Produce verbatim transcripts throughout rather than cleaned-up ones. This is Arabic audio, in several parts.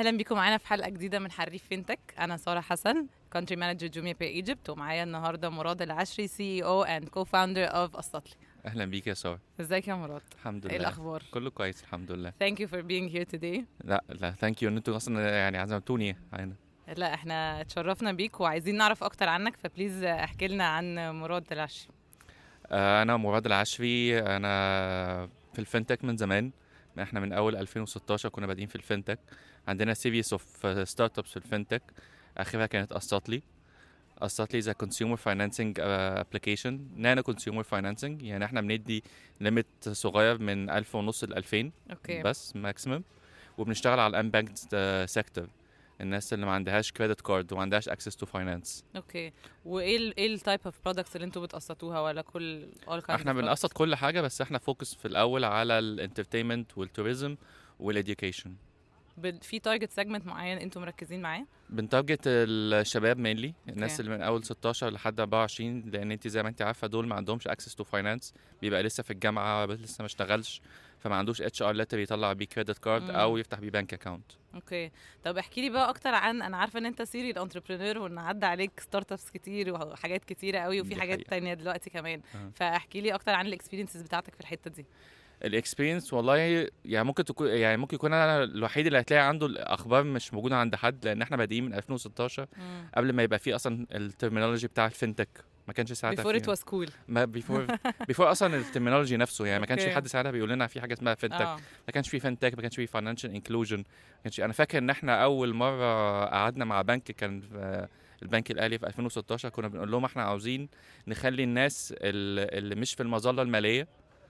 اهلا بيكم معانا في حلقه جديده من حريف فينتك. انا ساره حسن كونتري مانجر جوميا باي ايجيبت، ومعايا النهارده مراد العشري سي اي او اند كو فاوندر اوف السطلي. اهلا بيك يا ساره. ازيك يا مراد؟ الحمد ايه لله، الاخبار؟ كله كويس الحمد لله. Thank you for being here today. لا لا ثانك يو ان انتوا اصلا يعني عزمتوني هنا. لا احنا اتشرفنا بيك وعايزين نعرف اكتر عنك، فبليز احكي لنا عن مراد العشري. آه انا مراد العشري، انا في الفinTech من زمان. احنا من اول ألفين وستاشر كنا بادئين في الفinTech. عندنا سيريس اوف ستارت ابس في الفinTech، اخرها كانت السطلي. السطلي زي كونسيومر فاينانسنج ابلكيشن، نانو كونسيومر فاينانسنج، يعني احنا بندي ليميت صغير من ألف ونص ل ألفين اوكي. بس ماكسيمم، وبنشتغل على الانبانكد سيكتور، الناس اللي ما عندهاش كريدت كارد وما عندهاش اكسس تو فاينانس. اوكي. وايه ال ايه التايب اوف برودكتس اللي انتوا بتقسطوها ولا كل all kinds احنا of بنقسط products؟ كل حاجه، بس احنا فوكس في الاول على الانترتينمنت والتوريزم والاديوكيشن. بد- في تارجت سيجمنت معين انتوا مركزين معاه؟ بنتارجت الشباب مينلي، الناس أوكي. اللي من اول ستاشر لحد أربعة وعشرين، لان انت زي ما انت عارفه دول ما عندهمش اكسس تو فاينانس، بيبقى لسه في الجامعه لسه ما اشتغلش، فما عندوش اتش ار ليتر يطلع بيه كريدت كارد او مم. يفتح بيه بنك اكاونت. اوكي. طب احكي لي بقى اكتر عن، انا عارفه ان انت سيريال انتربرينور وان عدى عليك ستارت ابس كتير وحاجات كتيره قوي وفي دي حاجات حقيقة. تانية دلوقتي كمان. أه. فاحكي لي اكتر عن الاكسبيرينسز بتاعتك في الحته دي. الاكسبيرينس والله يعني ممكن تكون يعني ممكن يكون انا الوحيد اللي هتلاقي عنده الاخبار مش موجوده عند حد، لان احنا بادئين من ألفين وستاشر مم. قبل ما يبقى فيه اصلا الترمينولوجي بتاع الفinTech، ما كانش ساعتها before it فيها. was cool. ما بيفور بيفور اصلا الترمينولوجي نفسه، يعني ما كانش في أوكي. حد ساعتها بيقول لنا في حاجه اسمها فinTech. اه ما كانش في فinTech، ما كانش في financial inclusion، ما كانش. انا فاكر ان احنا اول مره قعدنا مع بنك كان في البنك الاهلي في ألفين وستاشر، كنا بنقول لهم احنا عاوزين نخلي الناس ال- اللي مش في المظله الماليه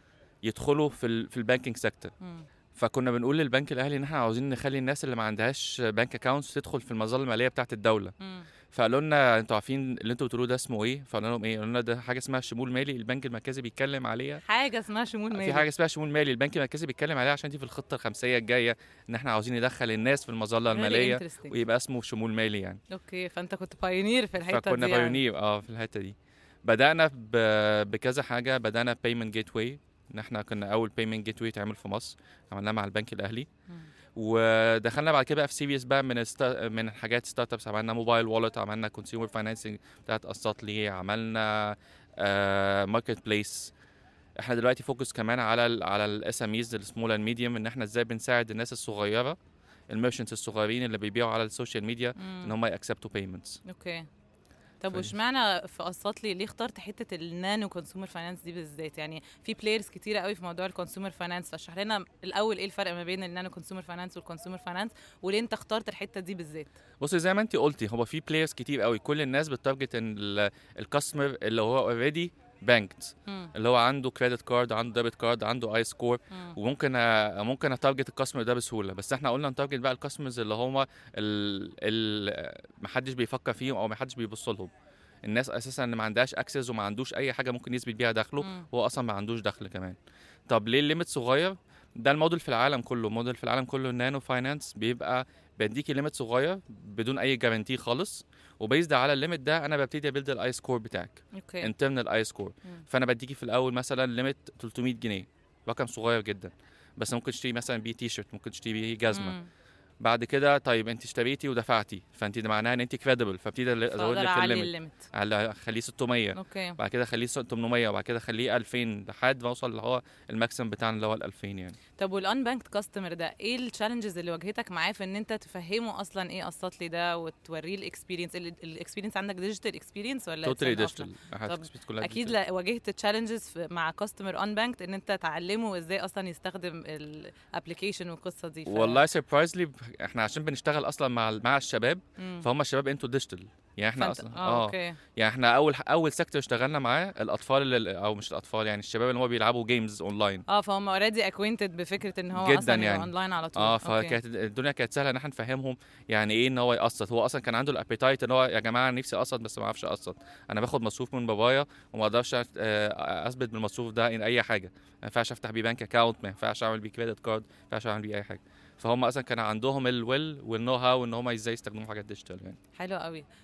يدخلوا في ال في البانكينج سيكتور. مم. فكنا بنقول للبنك الاهلي ان احنا عاوزين نخلي الناس اللي ما عندهاش بنك اكاونتس تدخل في المظله الماليه بتاعه الدوله. مم. فقالوا لنا انتوا عارفين اللي انتوا بتقولوه ده اسمه ايه؟ فقلنا لهم ايه؟ قالوا لنا ده حاجه اسمها شمول مالي، البنك المركزي بيتكلم عليها. حاجه اسمها شمول مالي. في حاجه اسمها شمول مالي، البنك المركزي بيتكلم عليها عشان دي في الخطه الخمسيه الجايه، ان احنا عاوزين ندخل الناس في المظله Very الماليه interesting. ويبقى اسمه شمول مالي يعني. اوكي، فانت كنت بايونير في الحته فكنا دي يعني. بايونير اه في الحته دي. بدانا ب- بكذا حاجه، بدانا بيمنت جيت واي، ان احنا كنا اول بيمنت جيت واي تعمل في مصر، عملناه مع البنك الاهلي. مم. ودخلنا بعد كده بقى في سيريس بقى من الستا... من حاجات ستارت ابس، عملنا موبايل والت، عملنا كونسيومر فاينانسنج بتاعت السطلي، عملنا ماركت بليس. احنا دلوقتي فوكس كمان على ال على الاس ام ايز السمول اند ميديوم، ان احنا ازاي بنساعد الناس الصغيره، الميرشنتس الصغيرين اللي بيبيعوا على السوشيال ميديا، ان مم. هم ياكسبتوا بيمنتس. اوكي. طب فاهم. واشمعنى في قسطلي ليه اخترت حته النانو كونسيومر فاينانس دي بالذات؟ يعني في بلايرز كتيره قوي في موضوع الكونسيومر فاينانس، فاشرح لنا الاول ايه الفرق ما بين النانو كونسيومر فاينانس والكونسيومر فاينانس، وليه انت اخترت الحته دي بالذات؟ بصي زي ما انت قلتي، هو في بلايرز كتير قوي، كل الناس بتارجت الكاستمر اللي هو اوريدي بانكت، مم. اللي هو عنده كريدت كارد، عنده ديبت كارد، عنده اي سكور، مم. وممكن أ- ممكن اتارجت الكاستمر ده بسهوله. بس احنا قلنا نتارجت بقى الكاستمرز اللي هم ال محدش بيفكر فيهم او محدش بيبص لهم، الناس اساسا اللي ما عندهاش اكسس وما عندوش اي حاجه ممكن يثبت بيها دخله، مم. هو اصلا ما عندوش دخل كمان. طب ليه الليميت صغير؟ ده الموديل في العالم كله، موديل في العالم كله النانو فاينانس بيبقى بديكي ليميت صغير بدون اي جارانتي خالص، وبيزد على الليميت ده انا ببتدي ابيلد الاي سكور بتاعك، اوكي. انترنال اي سكور. مم. فانا بديكي في الاول مثلا ليميت ثلاثمية جنيه، رقم صغير جدا، بس ممكن تشتري مثلا بيه تي شيرت، ممكن تشتري بيه جزمه. مم. بعد كده طيب انت اشتريتي ودفعتي، فانت ده معناها ان انت كريديبل، فابتدي ازود فاقدر لك اعلي الليميت، الليميت. على خليه ستمية، اوكي. بعد كده خليه ثمانمية، وبعد كده خليه ألفين، لحد ما اوصل اللي هو الماكسيمم بتاعنا اللي هو ال ألفين يعني. طب والان بانكد كاستمر ده ايه التشالنجز اللي واجهتك معاه في ان انت تفهمه اصلا ايه قسطلي ده وتوريه الاكسبيرينس؟ الاكسبيرينس عندك ديجيتال اكسبيرينس ولا توتالي it's an ديجيتال، طب اكيد لا واجهت تشالنجز مع كاستمر ان بانكد ان انت تعلمه ازاي اصلا يستخدم الابلكيشن والقصه دي؟ ف... والله سربرايزلي احنا عشان بنشتغل اصلا مع مع الشباب، مم. فهم الشباب انتوا ديجيتال، يعني احنا فانت... اصلا اه اوكي. يعني احنا اول اول سيكتور اشتغلنا معاه الاطفال اللي او مش الاطفال، يعني الشباب اللي هم بيلعبوا جيمز اونلاين. اه فهم اوريدي اكوينتد بفكره ان هو جداً اصلا يبقى يعني. اونلاين على طول. اه أوكي. فكانت الدنيا كانت سهله ان احنا نفهمهم يعني ايه ان هو يقسط. هو اصلا كان عنده الابيتايت ان هو يا جماعه نفسي اقسط بس ما اعرفش اقسط، انا باخد مصروف من بابايا وما اقدرش أ- اثبت بالمصروف ده ان اي حاجه، ما ينفعش افتح بيه بنك اكاونت، ما ينفعش اعمل بيه كريدت كارد، ما ينفعش اعمل بيه اي حاجه. فهم اصلا كان عندهم الويل والنو هاو ان هم ازاي يستخدموا حاجات ديجيتال يعني. حلو قوي.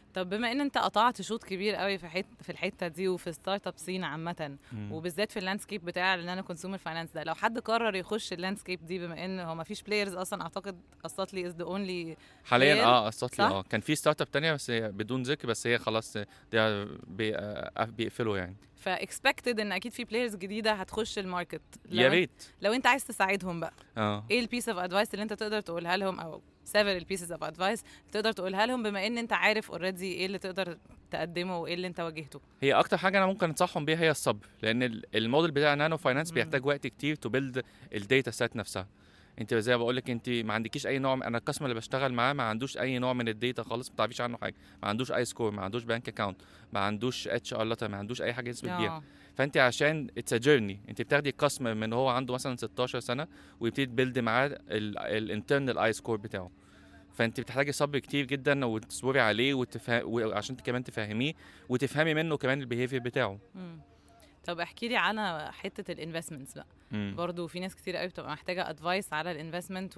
طب بما ان انت قطعت شوط كبير قوي في حته في الحته دي وفي ستارت اب سين عامه، مم. وبالذات في اللاندسكيب بتاع النانو كونسيومر فاينانس ده، لو حد قرر يخش اللاندسكيب دي، بما ان هو ما فيش بلايرز اصلا، اعتقد قصتلي از ذا اونلي حاليا player، اه قصت لي صح؟ اه كان في ستارت اب تانية بس هي بدون ذكر، بس هي خلاص ده بي- آه، بيقفلوا يعني. فاكسبكتد ان اكيد في بلايرز جديده هتخش الماركت. يا لو انت ريت. لو انت عايز تساعدهم بقى، اه ايه البيس اوف ادفايس اللي انت تقدر تقولها لهم، او several pieces of advice تقدر تقولها لهم، بما ان انت عارف اوريدي ايه اللي تقدر تقدمه وايه اللي انت واجهته؟ هي اكتر حاجه انا ممكن انصحهم بيها هي الصبر، لان ال- الموديل بتاع نانو فاينانس مم. بيحتاج وقت كتير تو بيلد الداتا سيت نفسها. انت زي ما بقول لك، انت ما عندكيش اي نوع من- انا القسم اللي بشتغل معاه ما عندوش اي نوع من الداتا خالص، ما تعرفيش عنه حاجه، ما عندوش اي سكور، ما عندوش بانك اكاونت، ما عندوش اتش ار لتر، ما عندوش اي حاجه يثبت بيها. اه فانت عشان اتس جيرني، انت بتاخدي القسم من هو عنده مثلا ستاشر سنه ويبتدي تبيلد معاه الانترنال اي سكور بتاعه. فانت بتحتاجي صبر كتير جدا وتصبري عليه وتفهم، وعشان كمان تفهميه وتفهمي منه كمان البيهيفير بتاعه. مم. طب احكي لي عن حته الانفستمنتس بقى. مم. برضو في ناس كتير قوي بتبقى محتاجه ادفايس على الانفستمنت،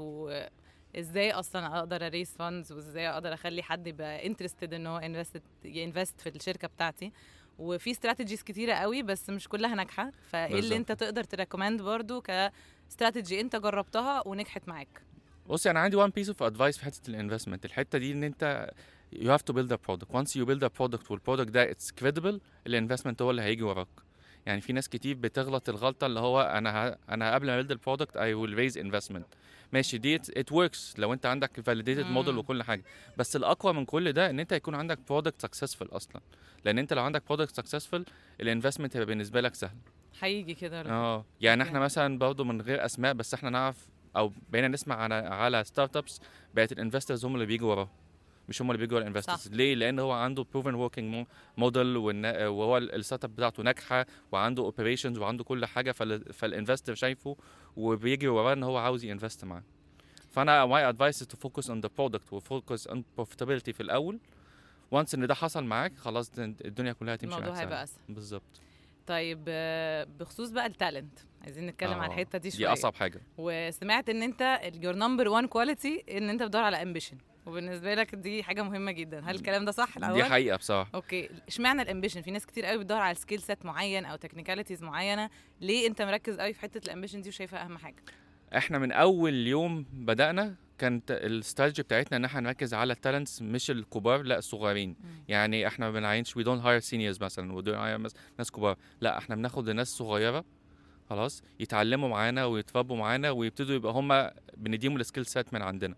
وازاي اصلا اقدر اريس فاندز، وازاي اقدر اخلي حد يبقى انترستد ان هو انفست ينفست في الشركه بتاعتي. وفي استراتيجيز كتيره قوي بس مش كلها ناجحه، فايه اللي انت بالظبط. تقدر تريكومند برضو كاستراتيجي انت جربتها ونجحت معاك؟ بصي انا عندي one piece of advice في حته الانفستمنت، الحته دي ان انت you have to build a product. once you build a product والبرودكت ده it's credible، الانفستمنت هو اللي هيجي وراك. يعني في ناس كتير بتغلط الغلطه اللي هو انا ه... انا قبل ما build البرودكت I will raise investment. ماشي دي it, it works لو انت عندك validated model مم. وكل حاجه، بس الاقوى من كل ده ان انت يكون عندك product successful اصلا، لان انت لو عندك product successful الانفستمنت هيبقى بالنسبه لك سهل. هيجي كده. اه يعني أوكي. احنا مثلا برضه من غير اسماء، بس احنا نعرف او بقينا نسمع على على ستارت ابس بقت الانفسترز هم اللي بيجوا وراه، مش هم اللي بيجوا ورا صح. الانفسترز. ليه؟ لان هو عنده بروفن وركينج موديل، وهو الستارت اب بتاعته ناجحه وعنده اوبريشنز وعنده كل حاجه، فالانفستر شايفه وبيجري وراه ان هو عاوز ينفست معاه. فانا my advice is to focus on the product وفوكس on profitability في الاول. وانس ان ده حصل معاك خلاص الدنيا كلها هتمشي معاك الموضوع سهل. هيبقى اسهل. بالظبط. طيب آه، بخصوص بقى التالنت، عايزين نتكلم على اه الحته دي دي شويه. اصعب حاجه. وسمعت ان انت your number one quality ان انت بتدور على ambition، وبالنسبه لك دي حاجه مهمه جدا. هل الكلام ده صح الاول؟ دي حقيقه بصراحه. اوكي، اشمعنى الامبيشن؟ في ناس كتير قوي بتدور على سكيل سيت معين او تكنيكاليتيز معينه، ليه انت مركز قوي في حته الامبيشن دي وشايفها اهم حاجه؟ احنا من اول يوم بدأنا كانت الاستراتيجي بتاعتنا ان احنا نركز على التالنتس مش الكبار، لا الصغيرين. مم. يعني احنا ما بنعينش we don't hire seniors مثلا و don't hire ناس كبار، لا احنا بناخد ناس صغيره خلاص يتعلموا معانا ويتربوا معانا ويبتدوا يبقى هم بنديهم السكيل سيت من عندنا.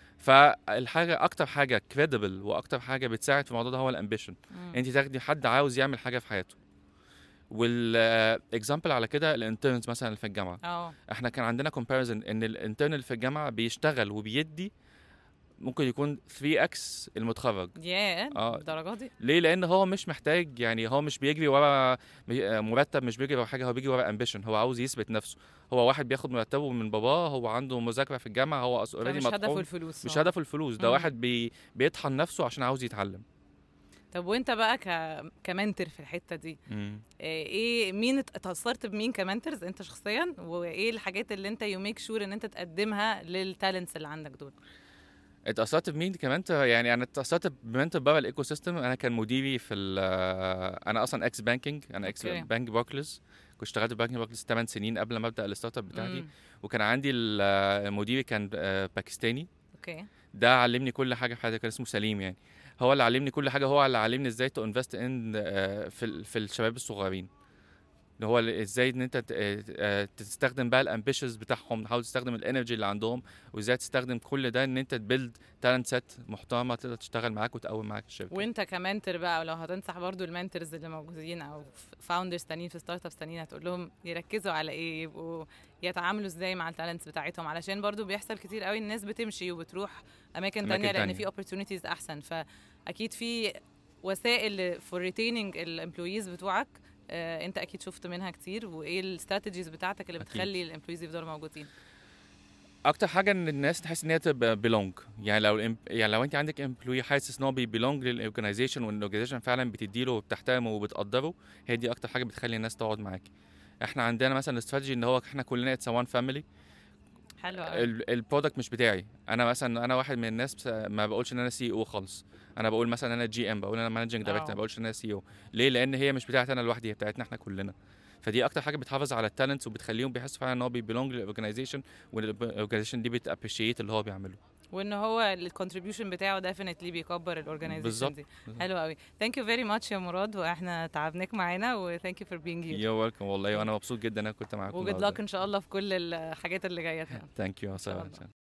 فالحاجه اكتر حاجه كريديبل واكتر حاجه بتساعد في الموضوع ده هو الامبيشن. انت تاخدي حد عاوز يعمل حاجه في حياته. والاكزامبل على كده الانترنز مثلا اللي في الجامعه، اه احنا كان عندنا كومباريزن ان الانترن اللي في الجامعه بيشتغل وبيدي ممكن يكون ثري اكس المتخرج. ياه اه الدرجات دي؟ ليه؟ لان هو مش محتاج، يعني هو مش بيجري ورا مرتب، مش بيجري ورا حاجه، هو بيجري ورا امبيشن، هو عاوز يثبت نفسه. هو واحد بياخد مرتبه من باباه، هو عنده مذاكره في الجامعه، هو اوريدي مش هدفه مطحون، الفلوس. مش آه. هدفه الفلوس، ده مم. واحد بي بيطحن نفسه عشان عاوز يتعلم. طب وانت بقى ك... كمنتر في الحته دي، مم. ايه مين ات- اتأثرت بمين كمنترز انت شخصيا، وايه الحاجات اللي انت يو ميك شور ان انت تقدمها للتالنتس اللي عندك دول؟ اتأثرت بمين كمان؟ يعني انا اتأثرت بمنتور بره الايكو سيستم. انا كان مديري في انا اصلا اكس بانكينج، انا اكس أوكي. بانك باركلز، كنت اشتغلت في بانك باركلز ثمانية سنين قبل ما ابدا الستارت اب بتاعتي. مم. وكان عندي ال- مديري كان آه، باكستاني. اوكي. ده علمني كل حاجه في حياتي، كان اسمه سليم يعني. هو اللي علمني كل حاجه، هو اللي علمني ازاي تو انفست ان في ال- في الشباب الصغيرين، اللي هو ال- ازاي ان انت ت- آه، تستخدم بقى الامبيشنز بتاعهم، تحاول تستخدم الانرجي اللي عندهم، وازاي تستخدم كل ده ان انت تبيلد تالنت سيت محترمه تقدر تشتغل معاك وتقوم معاك الشركه. وانت كمنتر بقى، ولو هتنصح برضو المنترز اللي موجودين او فاوندرز تانيين في ستارت ابس تانيين، هتقول لهم يركزوا على ايه، يبقوا يتعاملوا ازاي مع التالنتس بتاعتهم؟ علشان برضو بيحصل كتير قوي الناس بتمشي وبتروح اماكن, أماكن تانية لان تانية. في opportunities احسن. فاكيد في وسائل فور ريتيننج الامبلويز بتوعك، آه انت اكيد شفت منها كتير، وايه الاستراتيجيز بتاعتك اللي أكيد. بتخلي الامبلويز يفضلوا موجودين؟ اكتر حاجه ان الناس تحس ان هي تبقى بيلونج. يعني لو الإم- يعني لو انت عندك امبلوي حاسس ان هو بيبيلونج للاورجنايزيشن وان الاورجنايزيشن فعلا بتديله وبتحترمه وبتقدره، هي دي اكتر حاجه بتخلي الناس تقعد معاك. احنا عندنا مثلا استراتيجي ان هو احنا كلنا اتس وان فاميلي. حلو قوي. البرودكت مش بتاعي انا، مثلا انا واحد من الناس ما بقولش ان انا سي او خالص، انا بقول مثلا انا جي ام، بقول انا مانجنج دايركتور، ما بقولش ان انا سي او. ليه؟ لان هي مش بتاعتي انا لوحدي، هي بتاعتنا احنا كلنا. فدي اكتر حاجه بتحافظ على التالنتس وبتخليهم بيحسوا فعلا ان هو بيبلونج للاورجنايزيشن، والاورجنايزيشن دي بتابريشيت اللي هو بيعمله، وان هو الكونتريبيوشن بتاعه ديفينتلي بيكبر الاورجنايزيشن دي. حلو قوي. ثانك يو فيري ماتش يا مراد، واحنا تعبناك معانا، وثانك يو فور بينج هير. يو ويلكم والله، وانا مبسوط جدا ان انا كنت معاكم. وجود لك ان شاء الله في كل الحاجات اللي جايه. ثانك يو.